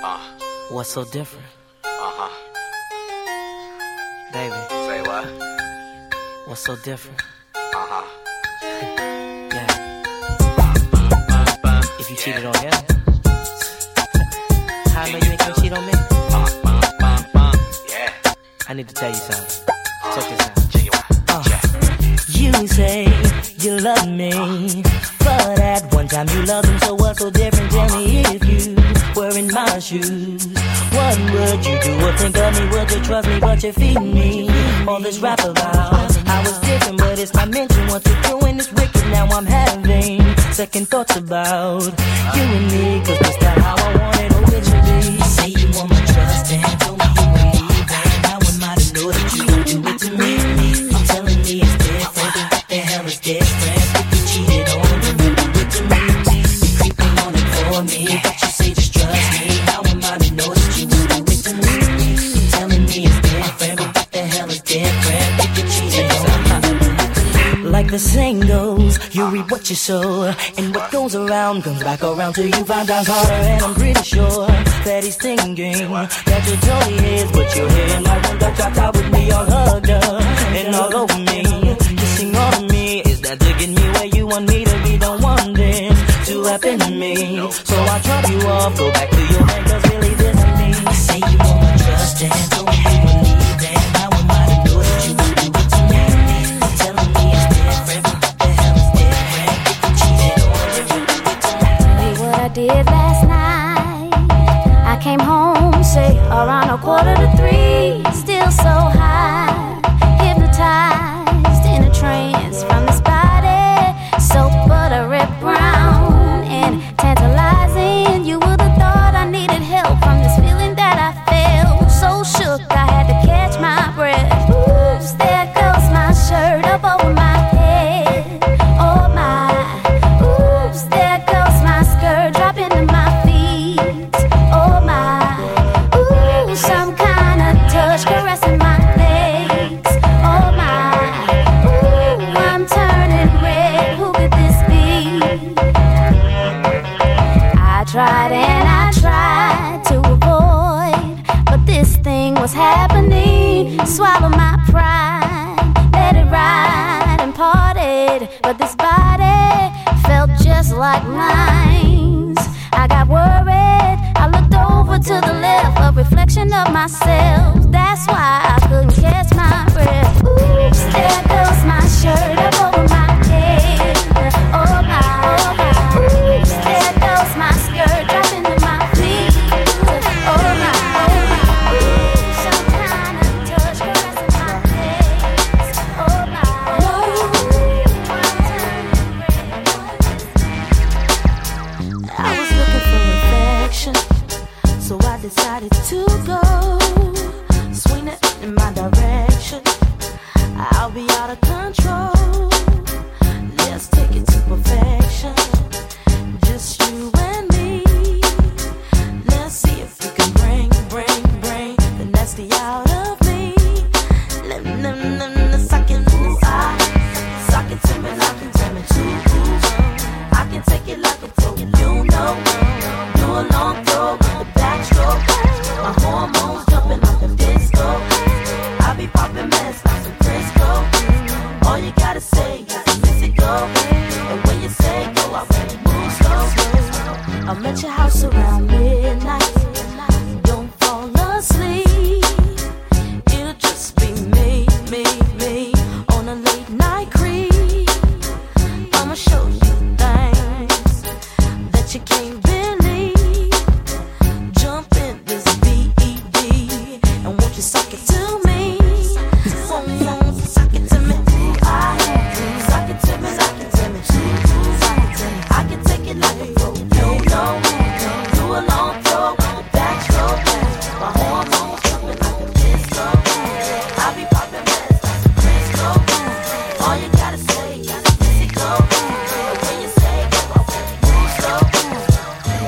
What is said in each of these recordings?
What's so different? Baby. Say what? What's so different? Yeah. If you cheated on him, how I know you ain't gonna cheat on me? Yeah. I need to tell you something. Check this out. You say you love me, but at one time you loved him, so what's so different? Tell me if you were in my shoes, what would you do or think of me? Would you trust me, but you feed me? All this rap about I was different, but it's not mentioned. What you're doing is wicked, now I'm having second thoughts about you and me, cause that's not how I want it originally. You say you want my trust and told me you would leave, and how am I to know that you gon' do it to me? You're telling me it's different, but what the hell is different? If you cheated on me, you do it to me. You're creeping on it for me, but you say just trust me. How am I to know that you would do it to me? You're telling me it's different, but what the hell is different? If you cheated on me. Like the saying goes, you reap what you sow, and what goes around comes back around till you find times harder. And I'm pretty sure that he's thinking that you're totally his, but you're here like one that dropped out with me, all hugged up and all over me, kissing all of me. Is that to get me where you want me to be? Don't want this to happen to me, so I drop you off, go back to your man, cause really this is me. You say you want my trust and told me you would leave, and how am I to know that you would do it to me? You're telling me it's different, but what the hell is different? If you cheated on me, you do it to me. Hey, what I did last night, I came home, say, around 2:45, still so high, hypnotized in a trance from this body, so buttery brown and tantalizing. You would have thought I needed help from this feeling that I felt, so shook I had to catch my breath. Oops, there goes my shirt up over my head. Oh my, oops, there goes my skirt dropping to my feet. Oh my, ooh, some kind of touch caressing my legs. Oh my, ooh, I'm turning red. Who could this be? I tried and I tried to avoid, but this thing was happening. Swallow my pride, let it ride and parted, but this body felt just like mine. I got worried, I looked over to the left, a reflection of myself. That's why I couldn't catch my breath. Oops, there goes my shirt up over my head. Oh my, oops, there goes my skirt dropping to my feet. Oh my, ooh, some kind of touch caressing my legs. Oh my, ooh, I'm turning red. I was looking for affection, so I decided to go. Swing it in my direction, I'll be out of control. Let's take it to perfection, just you and me. Let's see if we can bring the nasty out of me. Suck it to me like a tell me to. I can take it like a pro, you know. Do a long throw with the backstroke. My hormones jumping off the disco. I be popping mess like some Crisco. All you gotta say is miss it go. And when you say go, I really move slow. I'm at your house around midnight. Don't fall asleep. It'll just be me on a late night creep. I'ma show you things that you can't believe. Jump in this BED and won't you suck it to me? Suck it to me. Suck it to me. I can take it like a pro. You know. Do a long throw with the backstroke. My hormones jumping like a disco. I be popping mess like some Crisco. All you gotta say is miss it go. And when you say go, I really move slow.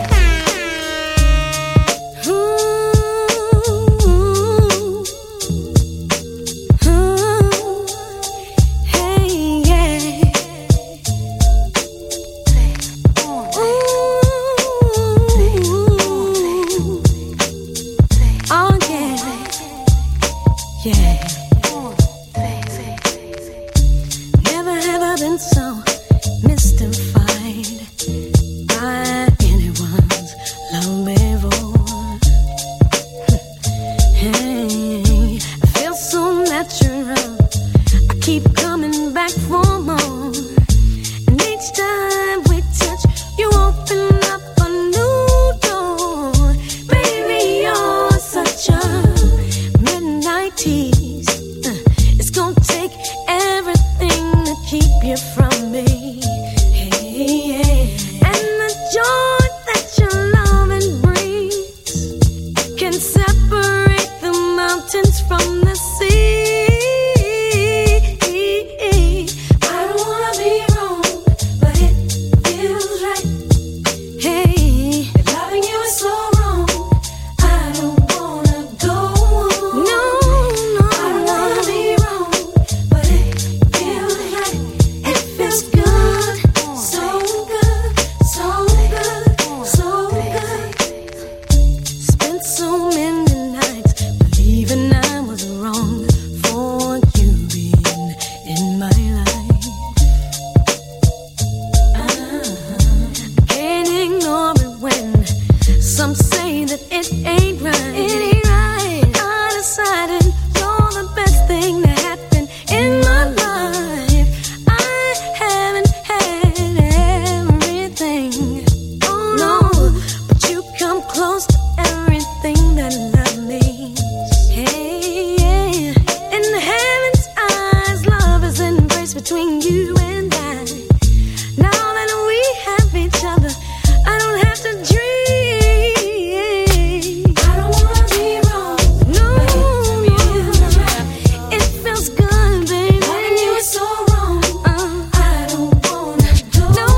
it ain't right. It ain't right. I decided you're the best thing that happened in my life. I haven't had everything, oh no, but you come close to everything that love means. Hey, yeah. In the heaven's eyes, love is embraced between you and I. Now that we have each other, I don't have to dream. I don't wanna be wrong. No, it feels good, baby. Loving you is so wrong. I don't wanna go. No.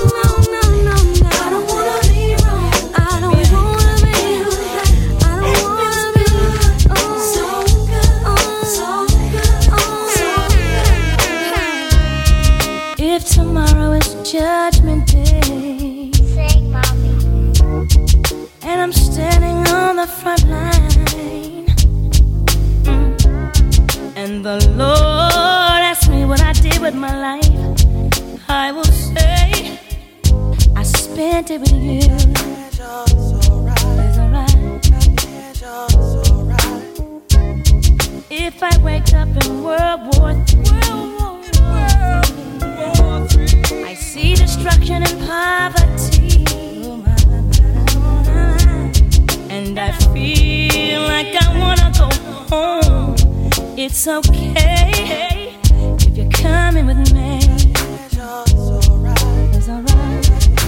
I don't wanna be wrong. I don't wanna be. I don't wanna be. So good, so good. If tomorrow is Judgment Day, Sing, mommy. and I'm standing on the front line, and the Lord asks me what I did with my life, I will say I spent it with you. It's alright. If I wake up in World War III, I see destruction and poverty, and I feel like I wanna go home. It's okay if you're coming with me. It's alright. It's alright.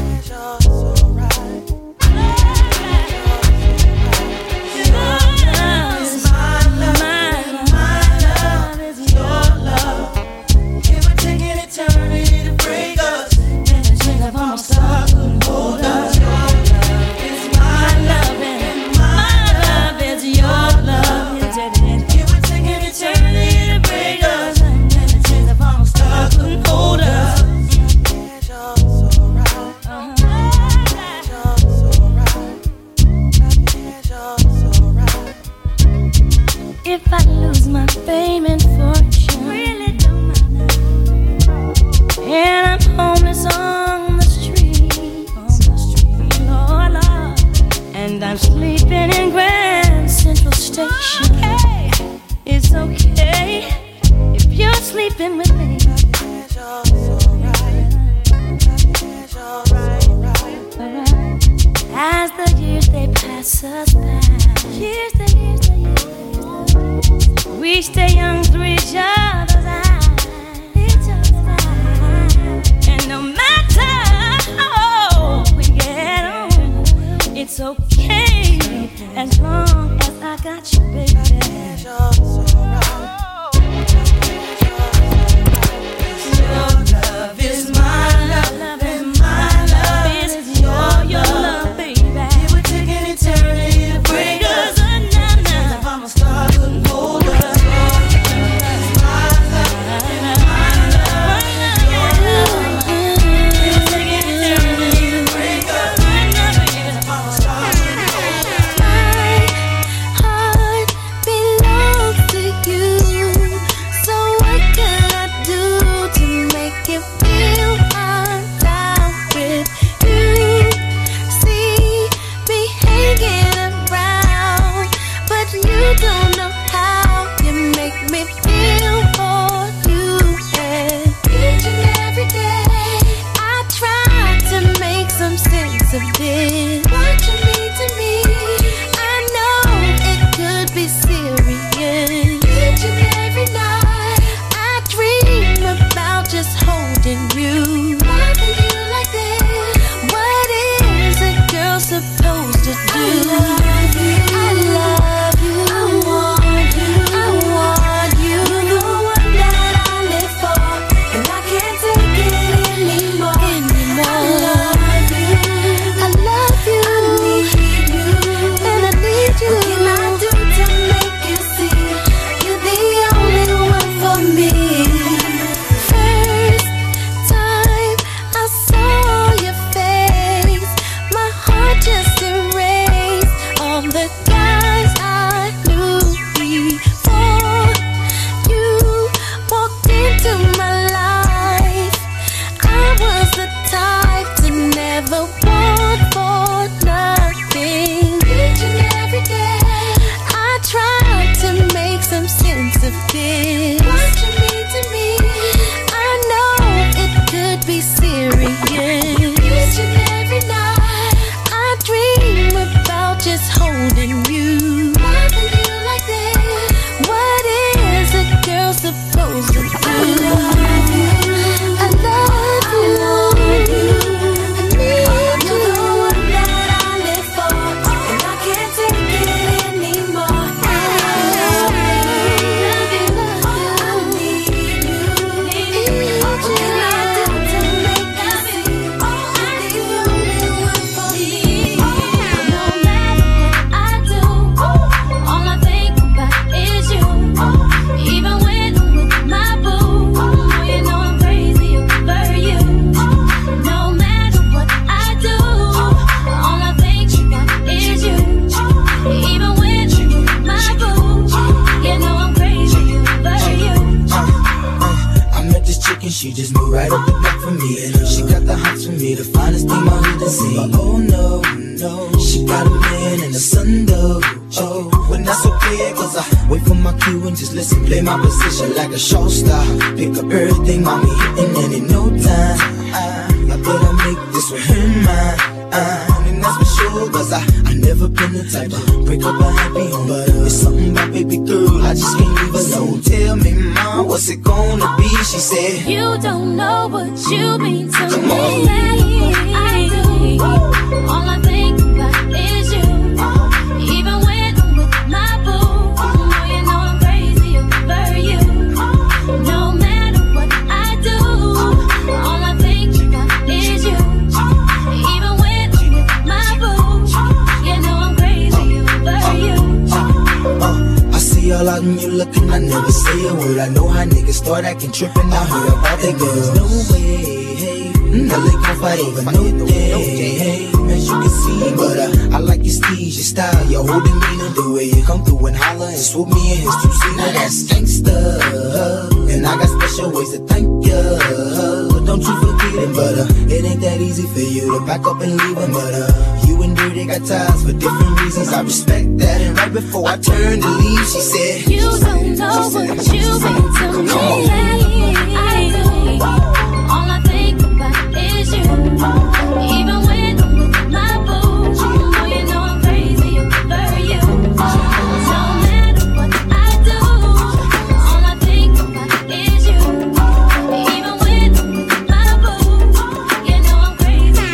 If I lose my fame and fortune, really don't matter, and I'm homeless on the street, Lord, and I'm sleeping in Grand Central Station, it's okay if you're sleeping with me. As the years they pass us by, we stay young through each other's eyes. And no matter how old we get on, it's okay as long as I got you, baby. Your love is my love, and my love is your love, baby. It would take an eternity to break us. If I'm a star, couldn't hold us. I love you. got a man and a son though. Oh, when that's okay, cause I wait for my cue and just listen, play my position like a show star. Pick up everything, mommy hitting, and in no time I better make this with him mine. And that's for sure, cause I never been the type to break up a happy home. But it's something about baby girl, I just can't leave alone. Tell me, mom, what's it gonna be? She said, you don't know what you mean to come me. on. I do. All I think about is you. Even when I'm with my boo, you know I'm crazy over you. No matter what I do, all I think about is you. Even when I'm with my boo, you know I'm crazy over you. I see all out and you looking, I never say a word. I know how niggas start acting trippin'. I heard about they girls. No way, hey, now they gon' fight over no day, hey, as you can see. But I like your steez, your style, your whole demeanor, the way you come through and holler and swoop me in his two-seater. That's gangsta, and I got special ways to thank ya. Don't you forget it, but it ain't that easy for you to back up and leave him. But you and Dirty got ties for different reasons. I respect that. And right before I turned to leave, she said, you don't know what you mean to me. I do. All I think about is you. Even when I'm with my boo, you know I'm crazy over you. No matter what I do, all I think about is you. Even when I'm with my boo, you know I'm crazy.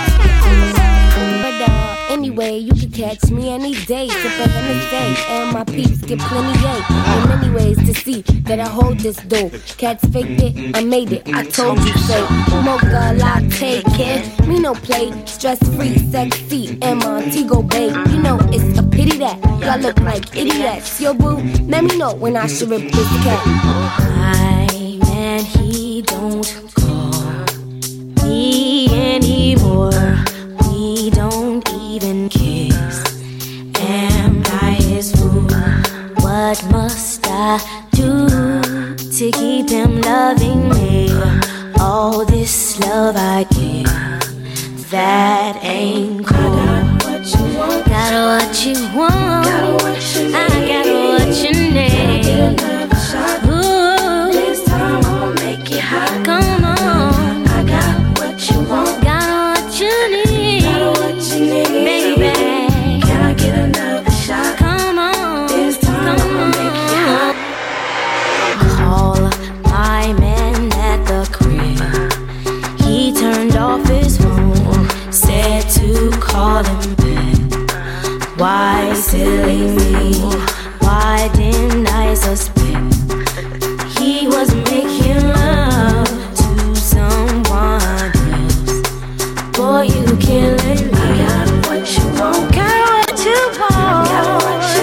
But anyway, you can catch me any day, sippin' Hennessy, and my peeps get plenty yay. In many ways to see that I hold this dough. Cats faked it, I made it, I told you so. Mocha latte, kid, me no play. Stress-free, sexy, and Montego Bay. You know it's a pity that y'all look like idiots. Yo boo, let me know when I should rip this cat. My man, he don't call me anymore. We don't even kiss. Am I his fool? What must I do to keep him loving me? All this love I give, that ain't cool. Got what you want, I got what you need. Ooh, this time I'ma make it hot. Come on, I got what you want, got what you need, baby. Can I get another shot? Come on, this time I'ma make it hot. Call my man at the crib. He turned off his phone, said to call him back. Why silly me? Why didn't I suspect he was making love to someone else? Boy, you killing me. Got what you want, got what you want, got what you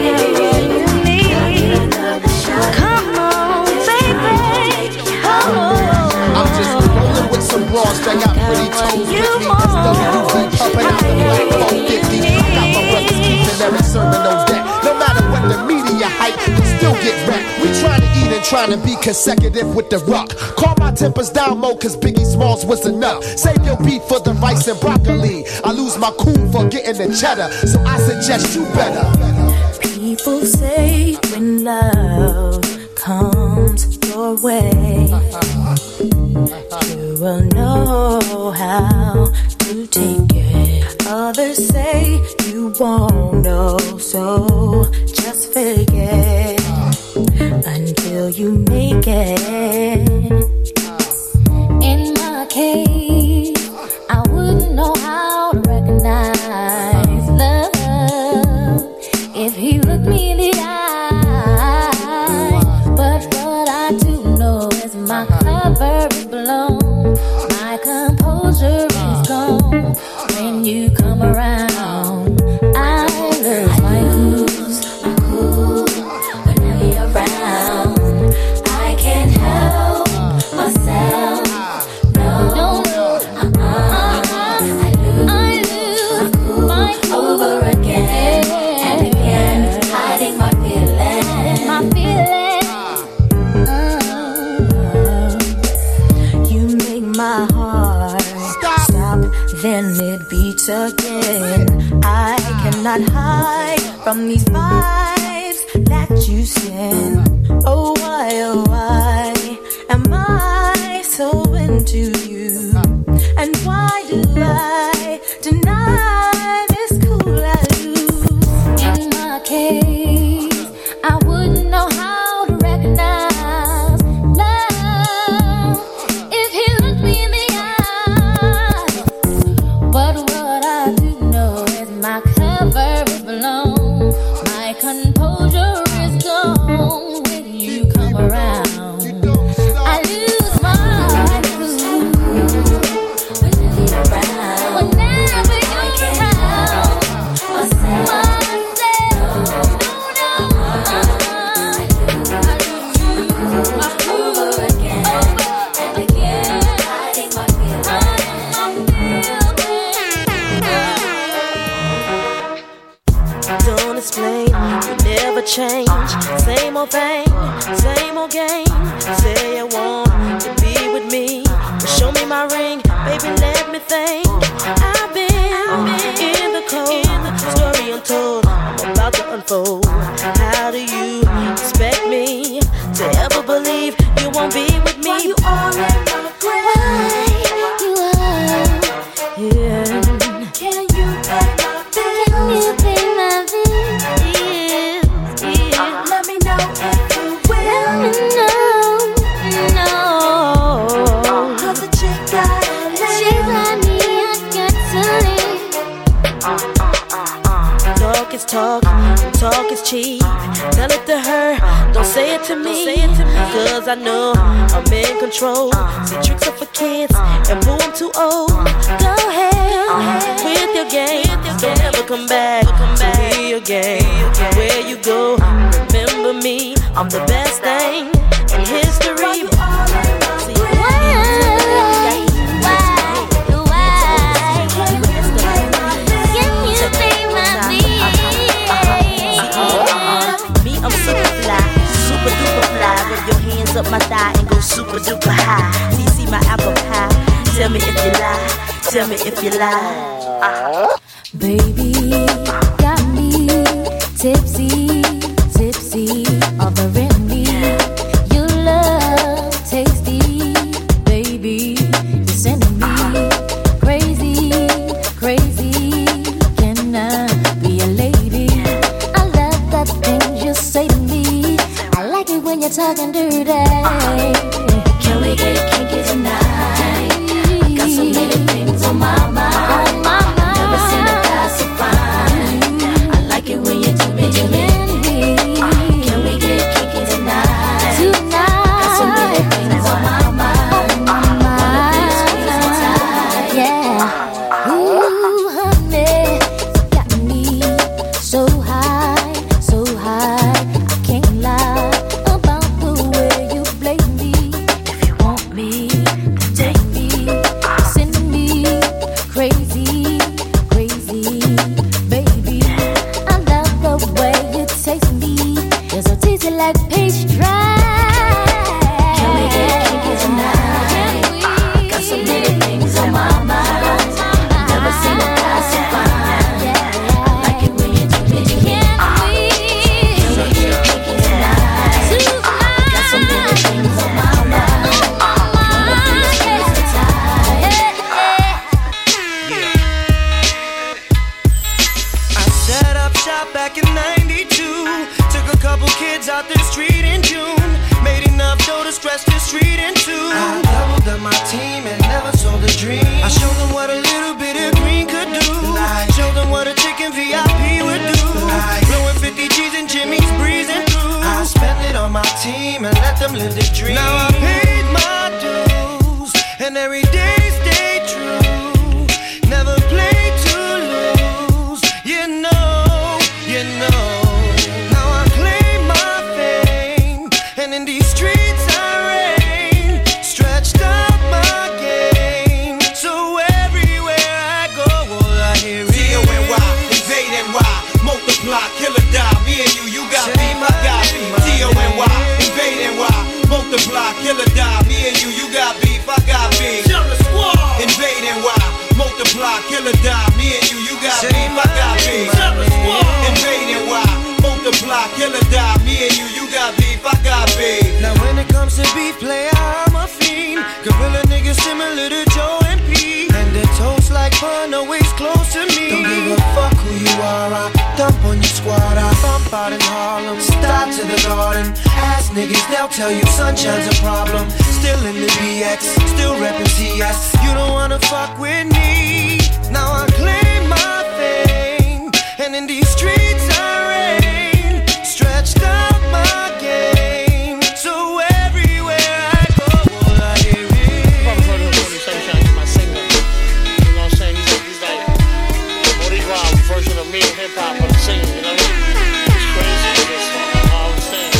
need. Come on, baby. I'm just rolling with some bras that got pretty toes with me. SWV pumping out the black 450. I got my brothers keeping every sermon knows that. No matter what the media hype, we still get wrecked. We trying to eat and trying to be consecutive with the rock. Call my tempers down more cause Biggie Smalls was enough. Save your beef for the rice and broccoli. I lose my cool for getting the cheddar, so I suggest you better. People say when love comes your way, you will know how to take it. Others say you won't know, so just fake it until you make it. In my case, I wouldn't know how to recognize love if he looked me in the eye. But what I do know is my cover is blown, my composure is gone. When you come around, I lose my cool whenever you're around. I can't help myself. No. I lose my cool over again and again, hiding my feelings. You make my heart stop, then it beats again. I cannot hide from these vibes that you send. Oh why am I so into you? And why do I deny this cool attitude? In my case, I wouldn't know how to recognize love if he looked me in the eye. But what I do know is my cover is blown, my composure is gone when you come around. I lose my cool whenever you're around. Whenever you're around, Don't explain, you never change. Same old thing, same old game. Say you want to be with me, but show me my ring, baby, let me think. I've been in the cold, story untold, I'm about to unfold. How do you expect me to ever believe you won't be with me? Why you all in my grave? Yeah. Can you pay my bills? can you pay my bills? Let me know if you will. No. Cause the chick got She's like me, I got to leave. Talk is talk, talk is cheap. Tell it to her, don't say it to me. Cause I know I'm in control. See, tricks are for kids, and boo, I'm too old. Go ahead with your game. Don't ever come back to me again. Where you go, remember me. I'm the best thing in history. Up my thigh and go super duper high. See my apple pie. Tell me if you lie. Tell me if you lie. Baby, got me tipsy, tipsy, offering me your love, tasty. Baby, you're sending me crazy, crazy. Can I be a lady? I love the things you say to me. I like it when you're talking dirty. Can we get kinky tonight? Got so many things on my mind. Never seen a guy so fine. I like it when you do me, do me. Can we get kinky tonight? Got so many things on my mind. Wanna be squeezed and tight. Yeah. Ooh, honey, got me so high, so high. I can't lie about the way you play me. If you want me, take me, send me crazy, crazy, baby. I love the way you taste me. You're so tasty like peach dry. Can we get kinky tonight? Got so many things on my mind. Never seen a guy so fine. I like it when you do me, do me. Can we get kinky tonight? Got so many things on my mind. Wanna be squeezed and tight. I set up shop back in 92. Took a couple kids out the street in June. Made enough dough to stretch the street in two. I doubled up my team and never sold a dream. I showed them what a little bit of green could do. Showed them what a chicken VIP would do. Blowing 50 G's and Jimmy's breezing through. I spent it on my team and let them live the dream. Now I paid my dues and every day stay true. Never play to lose. You know, you know. Now I claim my fame, and in these streets I reign. Stretched out my game, so everywhere I go, all I hear is D-O-N-Y, invade NY, multiply, kill or die. Me and you got beef, I got beef. D-O-N-Y, invade NY, multiply, kill or die. Me and you got beef, I got beef. beef player, I'm a fiend. Gorilla niggas similar to Joe and P. And the toast like fun, always close to me. Don't give a fuck who you are, I dump on your squad. I bump out in Harlem, stop to the garden. Ask niggas, they'll tell you sunshine's a problem. Still in the BX, still reppin' TS. You don't wanna fuck with me. Now I claim my fame, and in these streets I reign. Stretched out my game, so everywhere I go, all I hear is Sunshine is my singer. You know what I'm saying? He's like Bodie Rob version of me and hip hop, but I'm singing. You know what I mean? It's crazy. It's all I'm saying.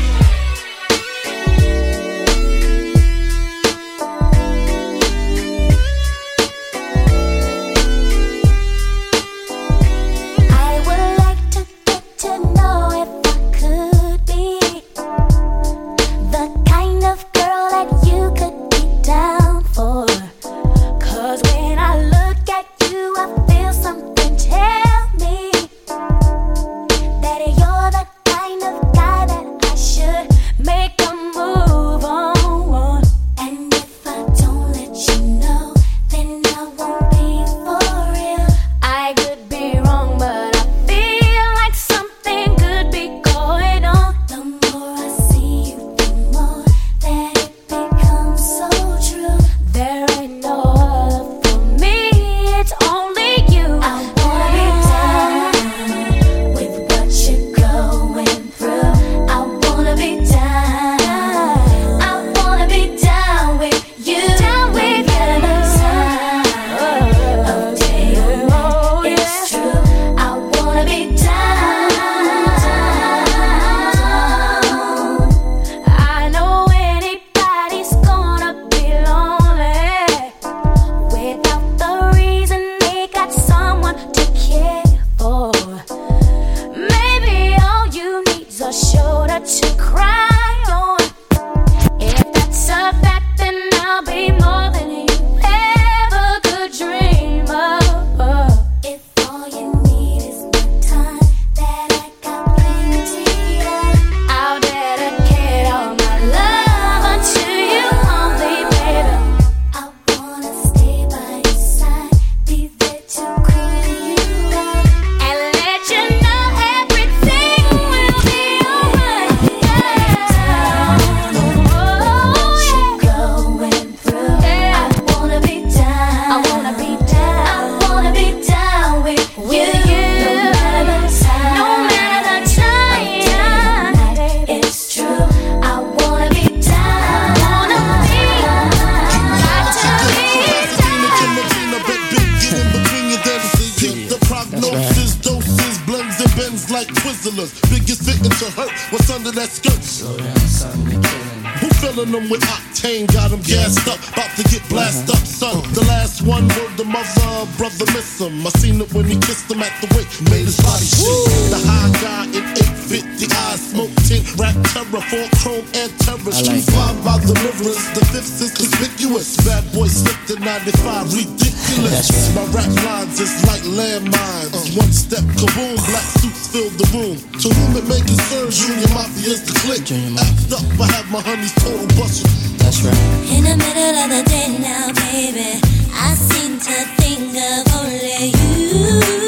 I seen it when he kissed him at the wake, made his body shake. The high guy in 850 eyes, smoke tint, rap terror, full chrome and terror. Street five by the rivers, the fifth is conspicuous. Bad boy slipped in 95, ridiculous. My rap lines is like landmines. One step, kaboom, black suits fill the room. To whom it may concern, Junior Mafia's the clique. Act up, I have my honeys total busted. That's right. In the middle of the day now, baby, I seem to think of only you.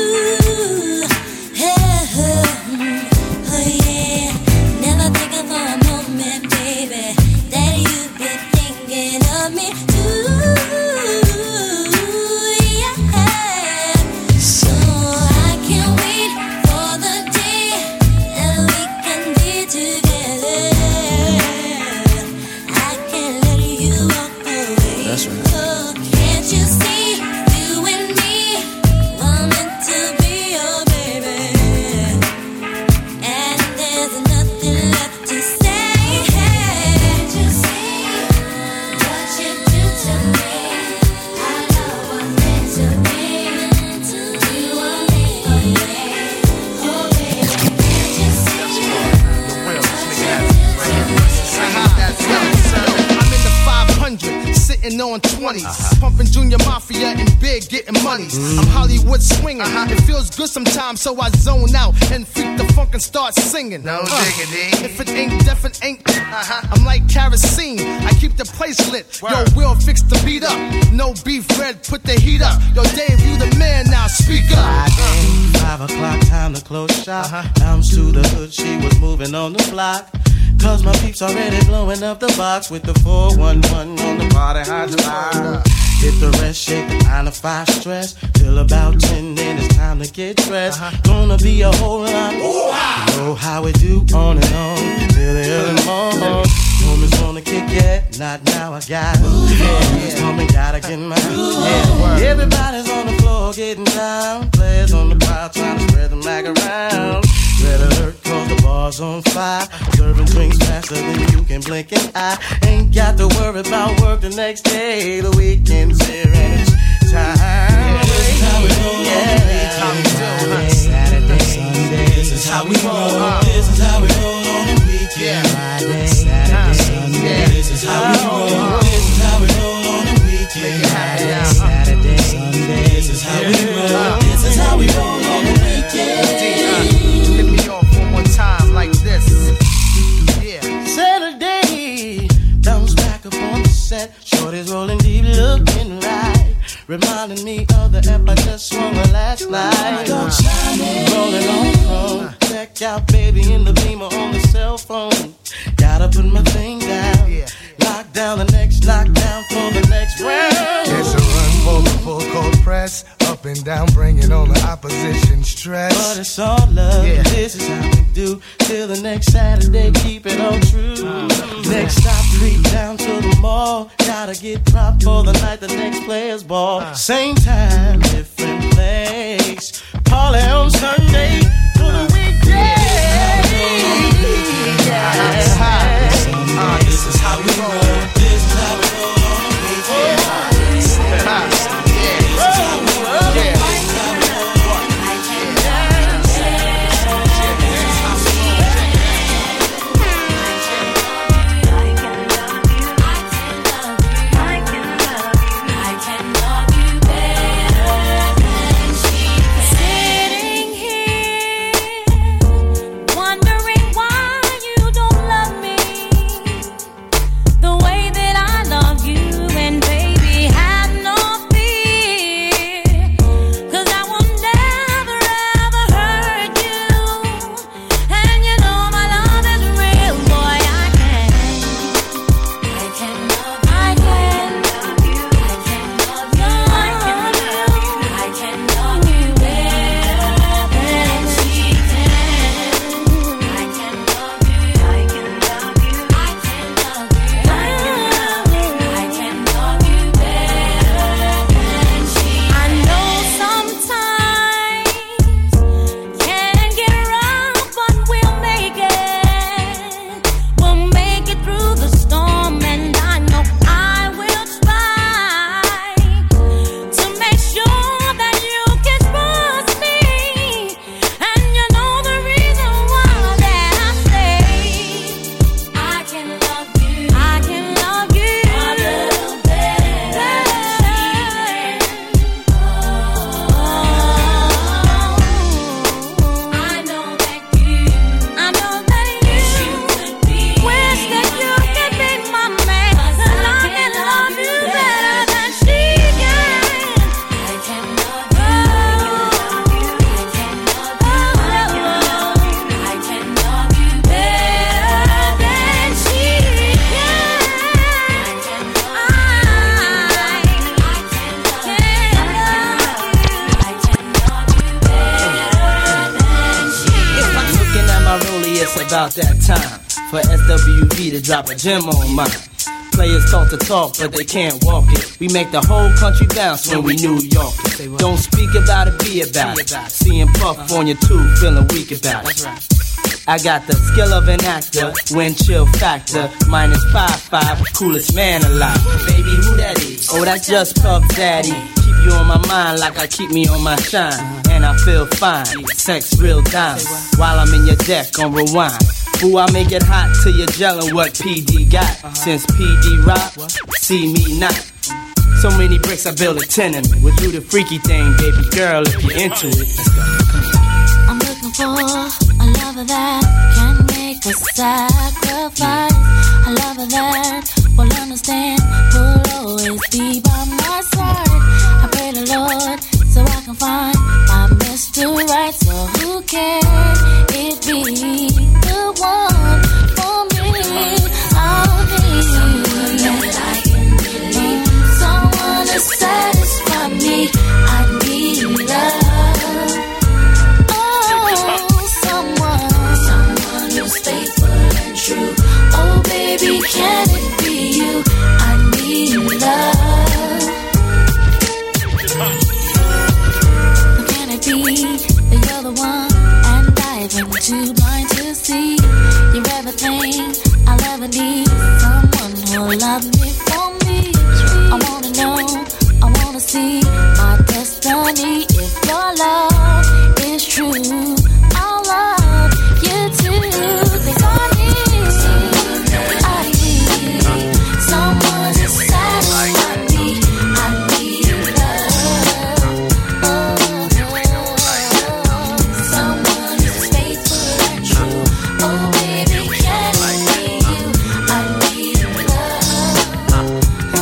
Oh yeah, never thinking for a moment, baby, that you've been thinking of me too. Yeah, so I can't wait for the day that we can be together. I can't let you walk away. That's right. Oh, can't you see, you and me were meant to on 20s. Pumping Junior Mafia and Big getting monies. I'm Hollywood swinging. It feels good sometimes, so I zone out and freak the funk and start singing. No diggity. If it ain't deaf, it ain't. I'm like kerosene. I keep the place lit. Yo, Will fix the beat up. No beef, Red, put the heat up. Yo, Dave, you the man now. Speak up. 5 o'clock, time to close shop. Bounce to the hood, she was moving on the block. Cause my peeps already blowing up the box with the 411 on the party hotline. Hit the rest, shake the 9 to 5 stress. Till about 10, then it's time to get dressed. Gonna be a whole lot. You know how we do on and on till the early morning. Homies wanna kick it, not now, I got it. Yeah, coming, gotta get mine. Yeah. Everybody's on the floor getting down. Players on the crowd trying to spread the mag around. Red alert, cause the bar's on fire. Serving drinks faster than you can blink an eye. Ain't got to worry about work the next day. The weekend's here and it's time. This is how we roll. Saturday, Sunday. This is how we roll. This is how we roll on the weekend. Friday, Saturday, Sunday. This is how we roll. This is how we roll on the weekend. Friday, Saturday, Sunday. This is how we roll. This is how we roll on the weekend. Time like this. Yeah. Saturday, bounce back up on the set. Shorty's rolling deep, looking right. Reminding me of the ep I just swung her last night. Rolling on chrome. Check out baby in the Beamer on the cell phone. Gotta put my thing down. Lock down the next lockdown for the next round. It's a run for the full court press. Up and down, bringing on the opposition stress. But it's all love. Yeah. This is how we do. Till the next Saturday, keep it all true. Next stop, creep down to the mall. Gotta get propped for the night, the next players ball. Same time, different place. Party on Sunday to the weekday. This is how we roll. This is how we roll on the weekend. About that time for SWV to drop a gem on mine. Players talk the talk, but they can't walk it. We make the whole country bounce when we New York it. Don't speak about it, be about it. Seeing Puff on your tube, feeling weak about it. I got the skill of an actor, wind chill factor, -5.5, coolest man alive. Baby, who that is? Oh, that's just Puff Daddy. Keep you on my mind like I keep me on my shine. And I feel fine, sex real diamond. While I'm in your deck on rewind. Ooh, I make it hot till you're gelling what PD got. Since PD rock, see me not. So many bricks, I build a tenement. We'll do the freaky thing, baby girl, if you're into it. Let's go. I'm looking for a lover that can make a sacrifice. A lover that will understand, will always be by my side. I pray the Lord so I can find my Mr. Right. So who can it be? The one for me. I'll be someone that I can believe. Someone to satisfy me. I need love. Someone who's faithful and true. Oh baby, can it be you? I need love. Can it be that you're the one and I've been too blind to see? You're everything I'll ever need. Someone who'll love me for me. I wanna know, I wanna see my destiny. If your love is true, I'll love you too. 'Cause I need someone to satisfy me. I need love. Someone who's faithful and true. Oh baby, can it be you? I need love.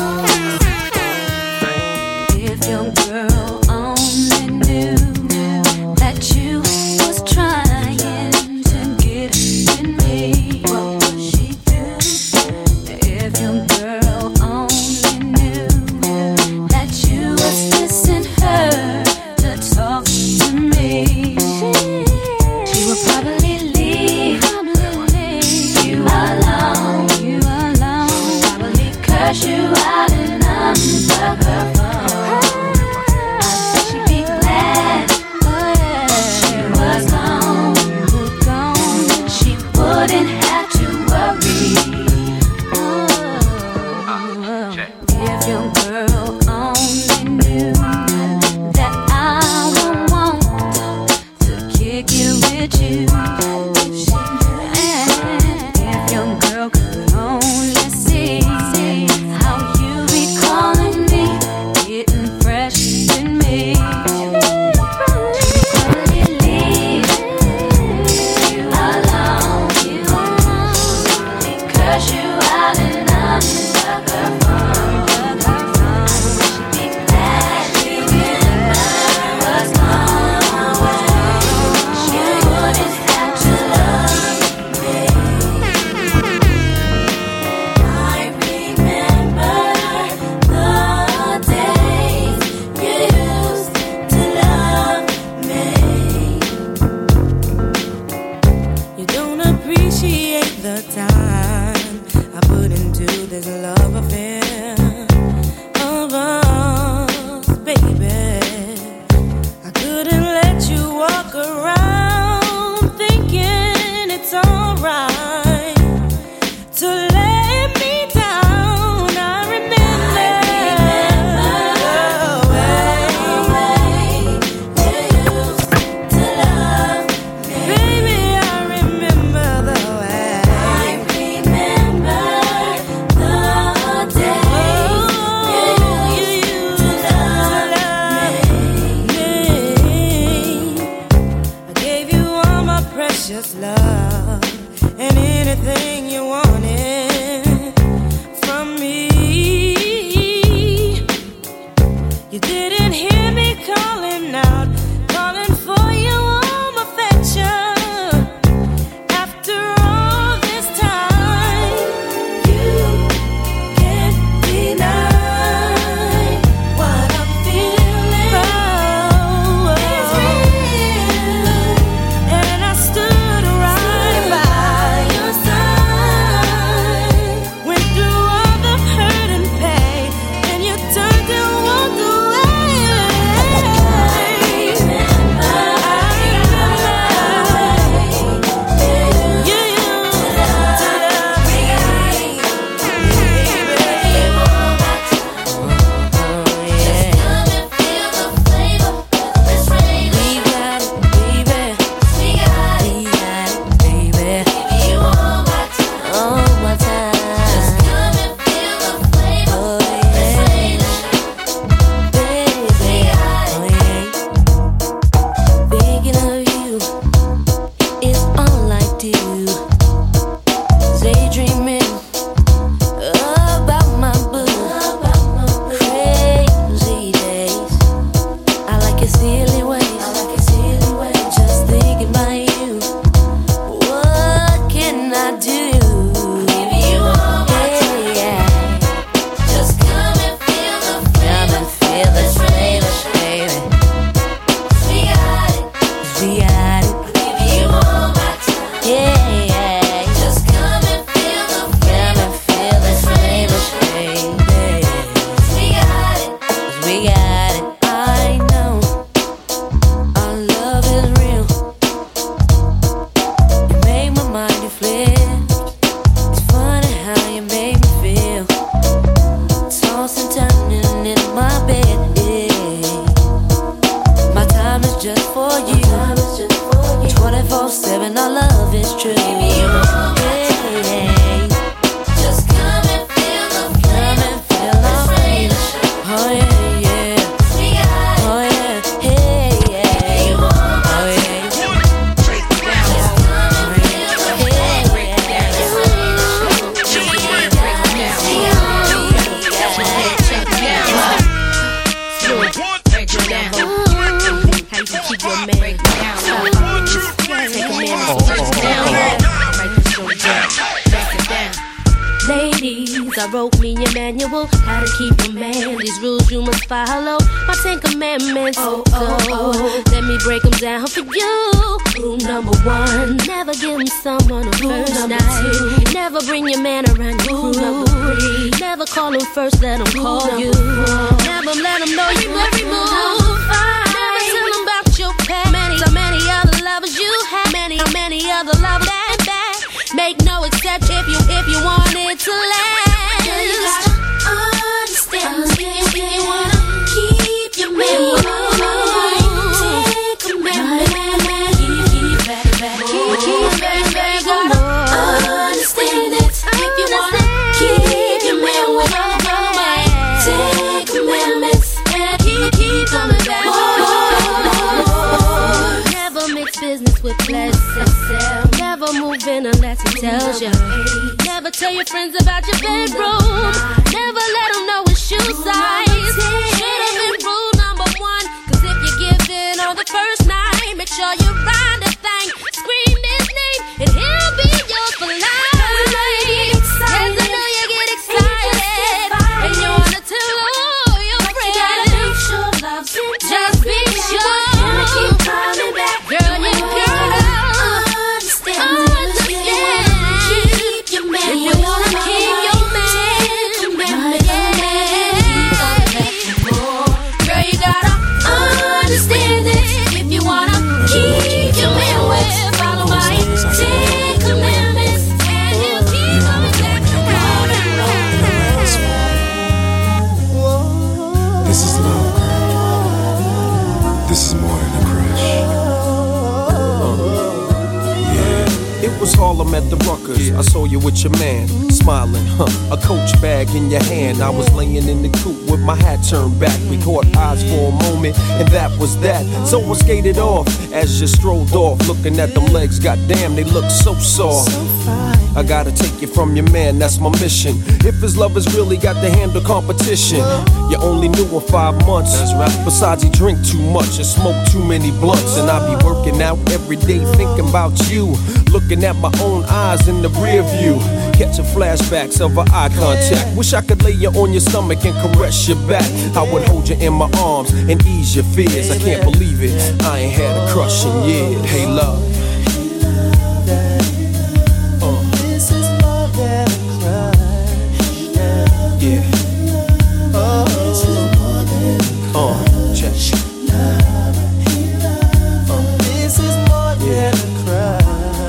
If your girl only knew that you was trying to get with me, what would she do? If your girl only knew that you was missing her to talk to me, she would probably leave you alone. Probably curse you out and unplug her phone. I bet she'd be glad she was gone. She wouldn't have to worry. If your girl only knew that I would want to kick it with you. If your girl could only see how you be calling me, getting fresh in me. Probably leave you alone. Curse you out and unplug her phone. She'd be glad you was gone. She wouldn't have to love me. I remember the days you used to love me. You don't appreciate the time I put into this love affair of us, baby. I couldn't let you walk around thinking it's alright to let me down. I remember the way you used to love me. Baby, I remember the way. I remember the days you used to love me. I gave you all my precious love and anything you wanted from me. You didn't hear me calling out, calling for your warm affection. After all this time, you can't deny what I'm feeling. It's real, and I stood right by your side. and our love is true. Just come and feel the flame. Let's rain. Oh yeah, yeah. Oh yeah, hey, yeah. Oh yeah. Break it down. Just come and feel the flame. Break it down. Ladies, I wrote me a manual how to keep a man. These rules you must follow. My 10 commandments. So let me break them down for you. Rule number 1, never give him someone a first night. 2, never bring your man around your crew. Number 3, never call him first, let him call you. Never let him know you every move. Never tell him about your past. Many other lovers you have. Many other lovers that make no exception if you want it to last. You gotta understand if you wanna keep your man. Take a man, keep back. You gotta understand it if you wanna keep your man with Take commandments and keep coming back. Never mix business with pleasure. Never move in unless he tells you. Never tell your friends about your bedroom. Never let them know his shoe size. Should've been rule number 1. Cause if you give in on the first night, make sure you ride the thing. Scream his name and he'll be yours for life. Yes, I know you get excited and you wanna tell all your friends. Just be sure. Keep coming back. Girl, you gotta understand. Keep your man. If you wanna keep your man, girl, you gotta understand it. If you wanna keep your man with, follow my 10 commandments, and he'll keep coming back around and round. This is love, girl. This is more than a crush. It was Harlem at the Ruckers. I saw you with your man, smiling, a Coach bag in your hand. I was laying in the coupe with my hat turned back. We caught eyes for a moment, and that was that. So I skated off as you strolled off, looking at them legs. Goddamn, they look so soft. I gotta take you from your man, that's my mission. If his lovers really got to handle competition, you only knew him 5 months. That's right. Besides, he drink too much and smoke too many blunts. And I be working out every day thinking about you, looking at my own eyes in the rear view, catching flashbacks of our eye contact. Wish I could lay you on your stomach and caress your back. I would hold you in my arms and ease your fears. I can't believe it, I ain't had a crush in years. Hey love, This is more than a crush. yeah. This is more than a crush. Check. This is more than a crush.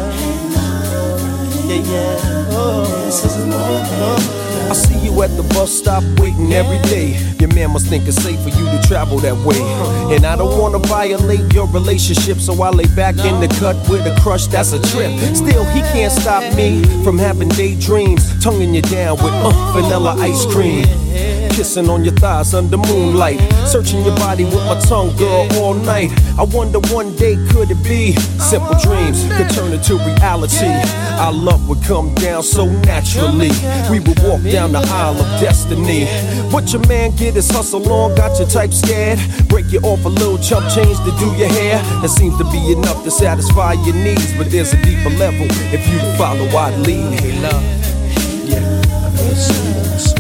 Yeah, yeah. This is more than a crush. I see you at the bus stop waiting every day. Your man must think it's safe for you to travel that way. And I don't wanna violate your relationship, so I lay back in the cut with a crush that's a trip. Still, he can't stop me from having daydreams, tonguing you down with vanilla ice cream. Kissing on your thighs under moonlight, searching your body with my tongue, girl, all night. I wonder one day could it be simple dreams could turn into reality. Our love would come down so naturally. We would walk down the aisle of destiny. But your man get his hustle on, got your type scared. Break you off a little chump change to do your hair. That seems to be enough to satisfy your needs, but there's a deeper level if you follow I'd lead. Hey love, yeah, I know it's so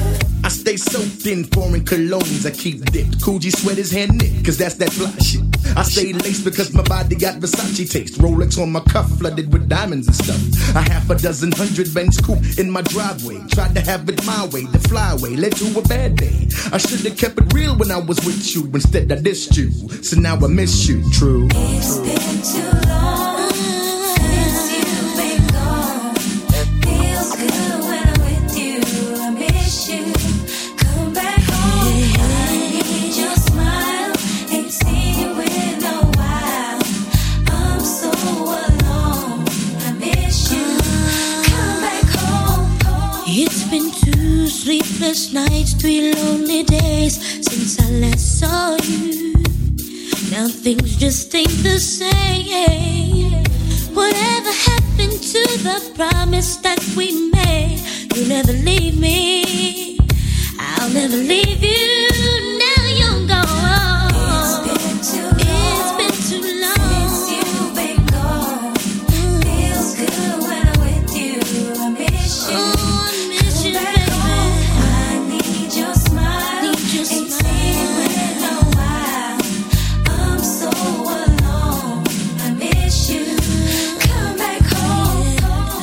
Stay soaked in foreign colognes, I keep dipped. Coogee sweaters hand knit, cause that's that fly shit. I stay laced because my body got Versace taste. Rolex on my cuff, flooded with diamonds and stuff. A half a dozen 100 Benz coupe in my driveway. Tried to have it my way, the flyway led to a bad day. I should have kept it real when I was with you. Instead I dissed you, so now I miss you. True. It's been too long since you've been gone. Feels good when I'm with you. I miss you. Come back home. I need your smile. Ain't seen you in a while. I'm so alone. I miss you. Come back home. It's been 2 sleepless nights, 3 lonely days since I last saw you. Now things just ain't the same. Whatever happened to the promise that we made? You'll never leave me. I'll never leave you. Now you're gone. It's been too long since you've been gone. Feels good when I'm with you. I miss you. I miss you, baby. I need your smile. Ain't seen you in a while. I'm so alone. I miss you. Come back home.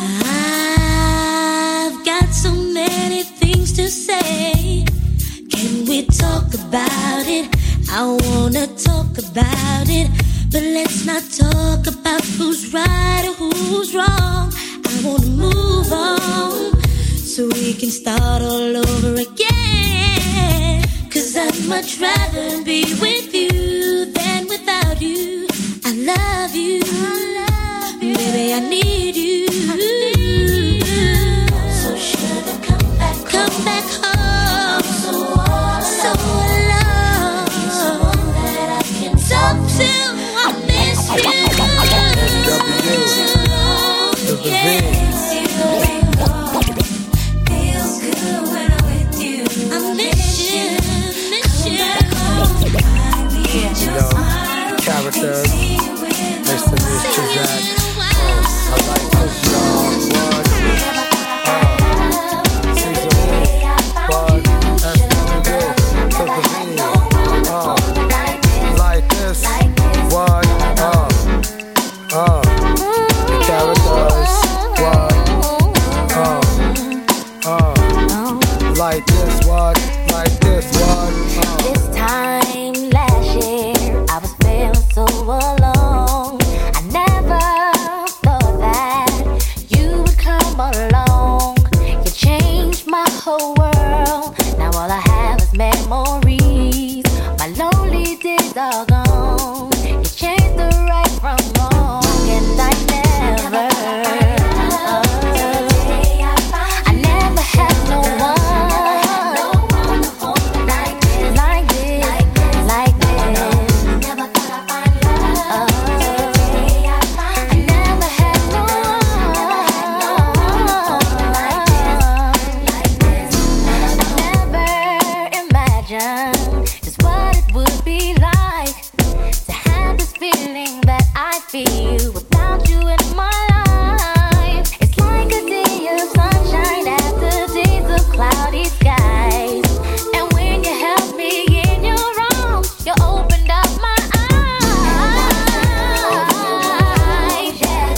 I've got so many things to say. Can we talk about it? I wanna talk about it, but let's not talk about who's right or who's wrong. I wanna move on so we can start all over again. 'Cause I'd much rather be with you than without you. I love you, baby, I need you. So sugar, come back home. I'm so alone. Need someone that I can talk to. I miss you. Feels good when I'm with you. I miss you. I need your smile. Characters. Nice to meet you, Zach. I like this song. Season 1. What? Like this. What? The characters. What? Like this. What? Like this. What? This time last year, I was feeling so alone. I never thought that you would come along. You changed my whole world. Now all I have is memories. My lonely days are gone. You changed the right from wrong, and I never had no one like this. Never thought I'd find love. I never had no one like this. Never imagined just what it would be like to have this feeling that I feel without you in my life. It's like a day of sunshine after days of cloudy skies. And when you held me in your arms, you opened up my eyes.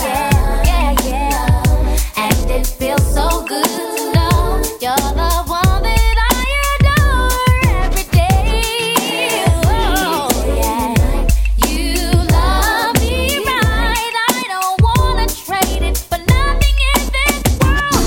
Yeah. And it feels so good to know you're the one that I adore every day. Oh, yeah. You love me right. I don't wanna trade it for nothing in this world.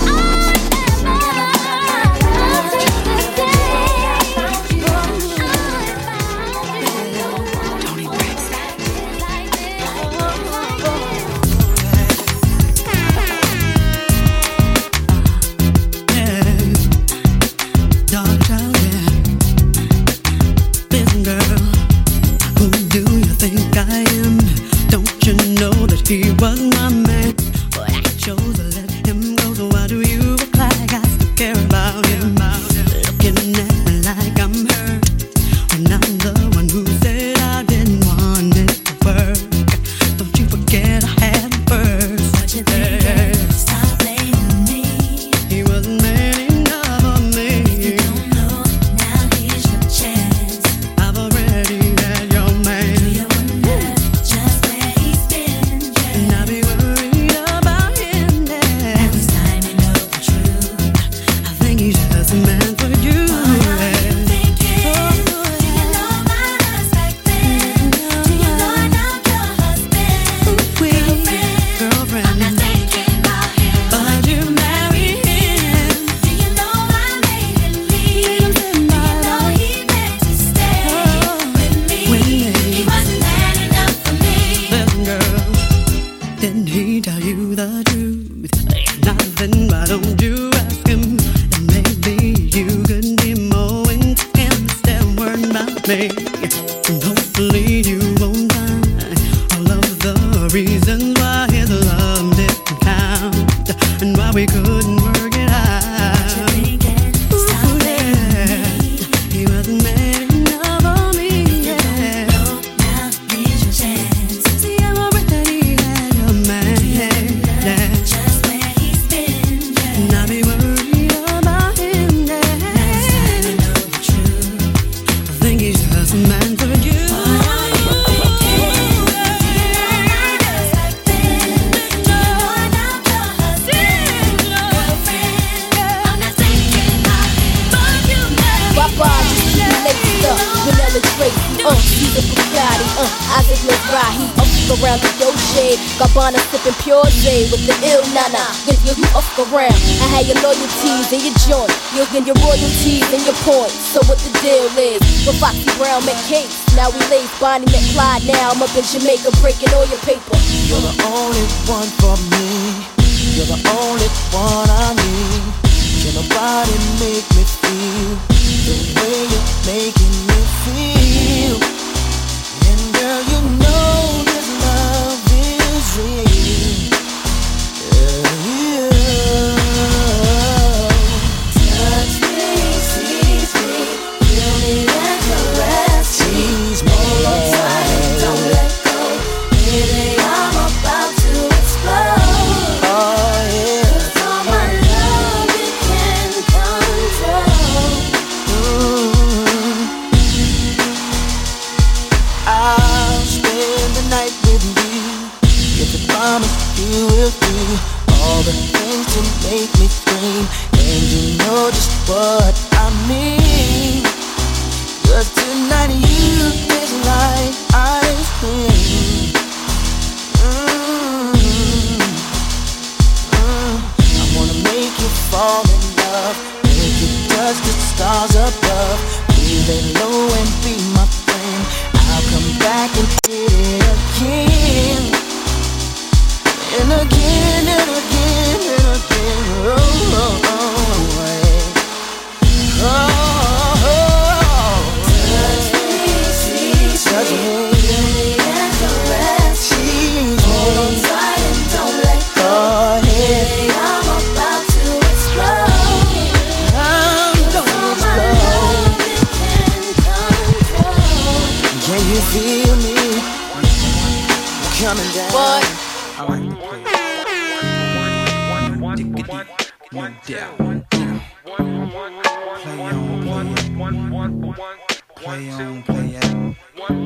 Dark child, yeah. Listen, girl, who do you think I am? Don't you know that he was my man? But I chose to let him go, so why do you act like I still care about him? Looking at me like I'm hurt, when I'm the one who said I didn't want it to work. Don't you forget I had him first. What you think? Stop blaming me. He wasn't man enough for me. If you don't know, now here's your chance. I've already had your man. Do you wonder Isaac Mizrahi, he up around the yo shade. Gabbana sipping pure J with the ill nana. If you up around, I had your loyalties in your joint. You'll get your royalties and your points. So what the deal is? With Foxy Brown McCase, now we lace Bonnie McClyde. Now I'm up in Jamaica breaking all your paper. You're the only one for me. You're the only one I need. Can nobody make me feel the way you're making me feel? And girl, you know this love is real. Touch me, seize me, feel me and caress me. Tease me, hold on tight and don't let go. Baby, I'm about to explode. Oh yeah. 'Cause all my love you can control. I'll spend the night with you. If I promise you will do all the things to make me scream. And you know just what I mean. 'Cause tonight you taste like ice cream. I wanna make you fall in love, make you touch the stars above. Be lay low and be my friend. I'll come back and hit it again. And again and again and again. Oh, oh, oh, yeah. Oh, oh. Touch me, seize Touch me, me. feel me and caress me. Tease Hold on me. tight and don't let go. Oh, yeah. Baby, I'm about to explode. I'm gonna explode. Can you feel me coming down? What? I like to play. No doubt. Play on, play out.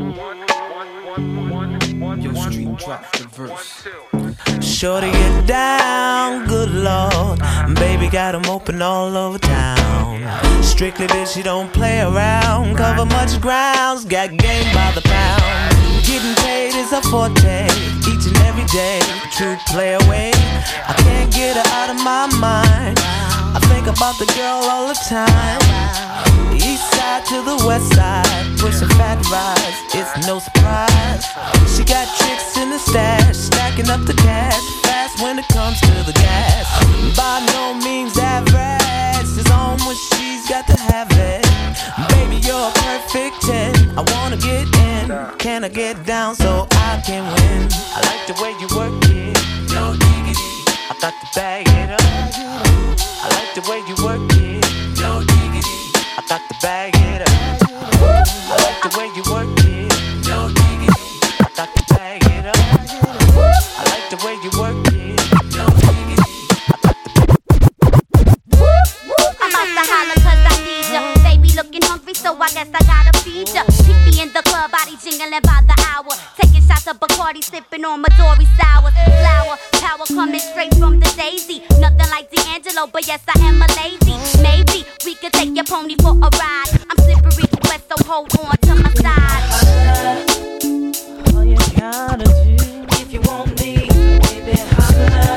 Yo, street drop the verse. Shorty get down, good lord. Baby got 'em open all over town. Strictly bitch, she don't play around. Cover much grounds, got game by the pound. Getting paid is a forte, each and every day. True play away, I can't get her out of my mind. I think about the girl all the time. East side to the west side, pushing fat rides, it's no surprise. She got tricks in the stash, stacking up the cash, fast when it comes to the gas. By no means average, she's on when she's got to have it. Baby, you're a perfect 10, I wanna get in. Can I get down so I can win? I like the way you work it, no diggity, I got to bag it up. I like the way you work it, no diggity, I got to bag it up. I like the way you work it, no diggity, I got to bag it up. I like the way you work it, no diggity, I got to bag it up. I'm out to holler 'cause I need ya. Baby looking hungry, so I guess I gotta feed ya. Keep me in the club, body jingling by the hour. Taking shots of Bacardi, sipping on Midori sour. Flower, power coming straight from the daisy. Nothing like D'Angelo, but yes, I am a lady. Maybe we could take your pony for a ride. I'm slippery wet, so hold on to my side. All you gotta do, if you want me, baby, holla.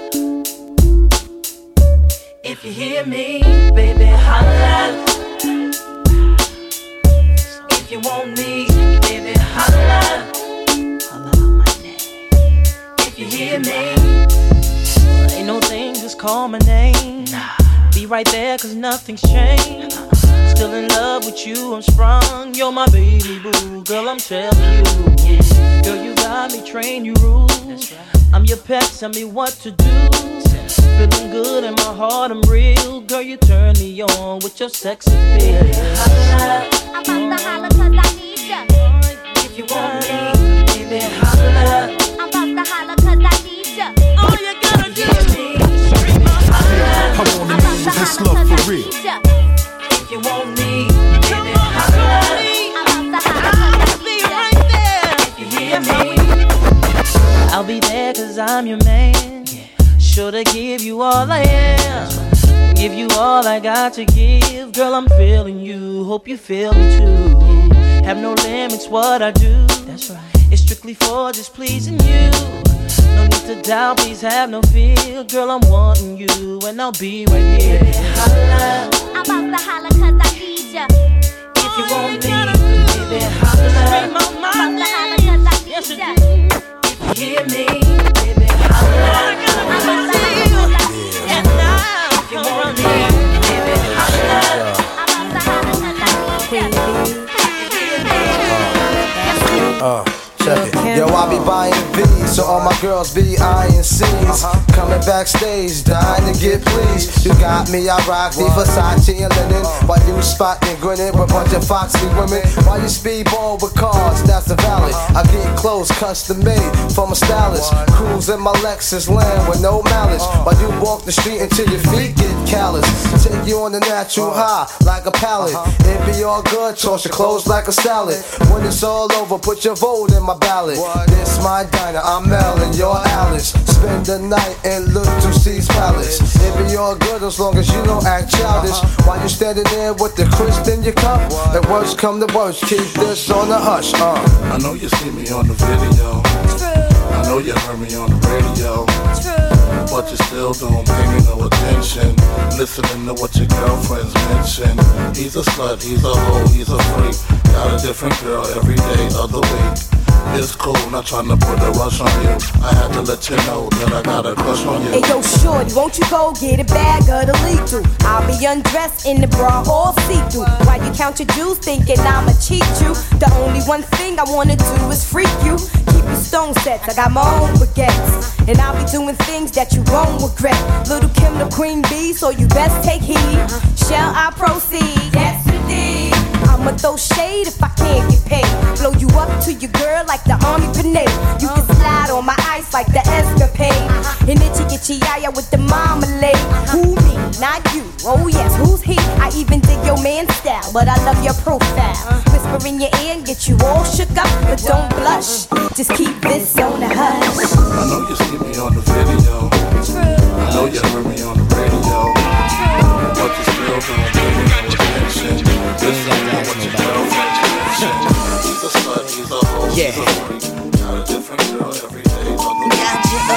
If you hear me, baby, holla. If you want me, baby, holla. Holla out my name. If you hear me, ain't no thing, just call my name. Be right there, 'cause nothing's changed. Still in love with you, I'm sprung. You're my baby boo, girl, I'm telling you. Girl, you got me, train you rules. I'm your pet, tell me what to do. Feeling good in my heart, I'm real. Girl, you turn me on with your sex appeal. I'm about to holler 'cause I need ya. If you want me, baby, holla. I'm about to holler 'cause I need ya. All you gotta do is scream my holla. I wanna meet this love for real. If you want me, baby, holla. I'm about to holler 'cause I need ya. Right there. If you hear me, I'll be there 'cause I'm your man. Sure to give you all I am. Give you all I got to give. Girl, I'm feeling you, hope you feel me too. Have no limits what I do. That's right. It's strictly for just pleasing you. No need to doubt, please have no fear. Girl, I'm wanting you, and I'll be right here. Holla. I'm about to holla 'cause I need ya. If you want me, baby, holla. Scream out my name. Yes, you do. If you hear me, baby, holla. I'm about to holla 'cause I need ya. And now, if you want me, baby, holla. I'm about to holla 'cause I need ya. Check it. Yo, I be buying V's, so all my girls be eyeing C's. Coming backstage, dying to get pleased. You got me, I rock the Versace and linen. While you spotting, grinning with a bunch of foxy women. While you speedball with cars, that's the valid. I get clothes custom made from a stylist. Cruise in my Lexus land with no malice. While you walk the street until your feet get callous. Take you on the natural high like a pallet. It be all good, toss your clothes like a salad. When it's all over, put your vote in my ballot. This my diner, I'm Mel and you're Alice. Spend the night in Little C's Palace. It be all good as long as you don't act childish. While you standing there with the crisp in your cup. At worst come to worst, keep this on the hush. I know you see me on the video. I know you heard me on the radio. But you still don't pay me no attention. Listening to what your girlfriends mention. He's a slut, he's a hoe, he's a freak. Got a different girl every day of the week. It's cool, not trying to put a rush on you. I had to let you know that I got a crush on you. Hey yo, shorty, won't you go get a bag of the lethal? I'll be undressed in the bra all see-through. While you count your jewels, thinking I'ma cheat you. The only one thing I wanna do is freak you. Keep your stone sets, I got my own baguettes. And I'll be doing things that you won't regret. Little Kim the queen bee, so you best take heed. Shall I proceed? Yes, indeed. I'ma throw shade if I can't get paid. Blow you up to your girl like the army grenade. You can slide on my ice like the escapade. And itchy itchy yaya with the marmalade. Who me? Not you. Oh yes, who's he? I even dig your man's style, but I love your profile. Whisper in your ear and get you all shook up, but don't blush. Just keep this on the hush. I know you see me on the video. I know you heard me on the radio. But you still don't pay me no attention. Listen to what your girlfriend mention. He's a slut, he's a hoe, he's a freak. Got a different girl every day of the week.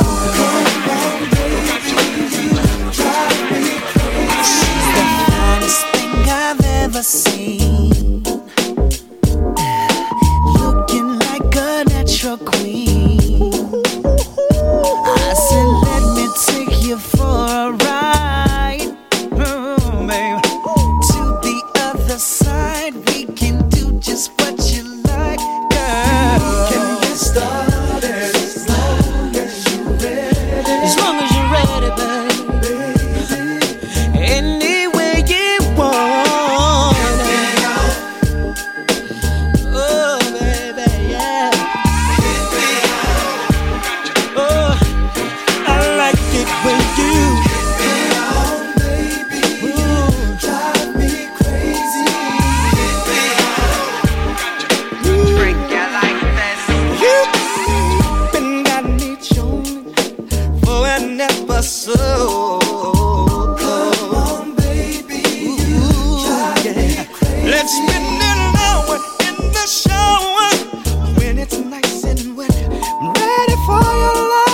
She's the finest thing I've ever seen. Looking like a natural queen. I said, let me take you for a ride, babe. To the other side, we can do just what you like, girl. Can get started as long as you're ready. As long as you're ready, baby. Any way you want it. Oh, baby, yeah. Oh, I like it when you drive me crazy. Freak you like this. You've been got me chewing for an episode. Come on, baby, you drive me crazy. Let's spend an hour in the shower when it's nice and wet. I'm ready for your love.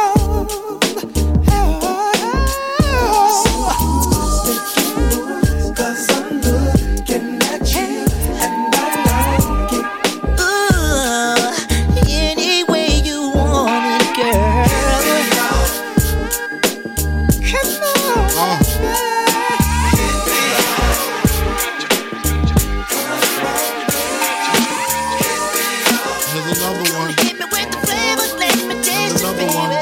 Cause I'm looking at you and I like it. Ooh, any way you want it, girl. Come on. Here's another one. Hit me with the flavor, let me taste it, baby.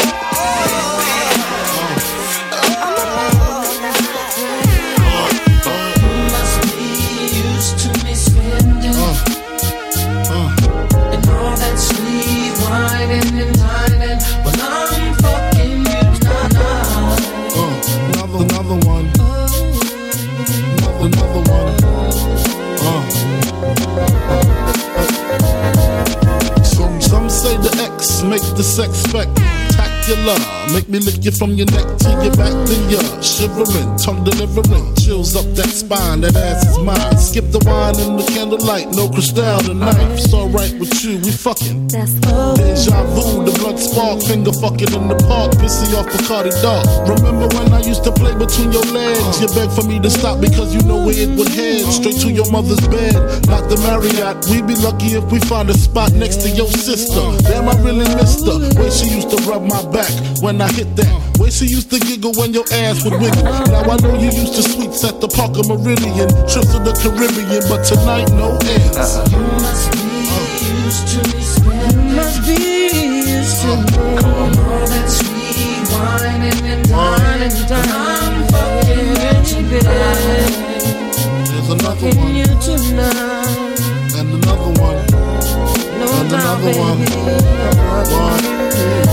Must be used to me spending and all that sweet whining and dining when I'm fucking you now. Another one. Another one. Some say the X make the sex spec. particular. Make me lick you from your neck to your back, then you're shivering, tongue delivering, chills up that spine. That ass is mine. Skip the wine and the candlelight, no crystal tonight. It's alright with you, we fucking. Deja vu, the blood spark, finger fucking in the park, pissy off Bacardi Dark. Remember when I used to play between your legs? You begged for me to stop because you know where it would head. Straight to your mother's bed, not the Marriott. We'd be lucky if we found a spot next to your sister. Damn, I really missed her. Way she used to rub my back when I hit that. Way she used to giggle when your ass would wiggle. Now I know you used to sweets at the Parker Meridian, trips to the Caribbean, but tonight no ends. You must be used to me. You must be used to me. All that sweet wine and wine and I'm fucking you, baby. There's another one. You tonight. And another one. No and doubt, another baby. one.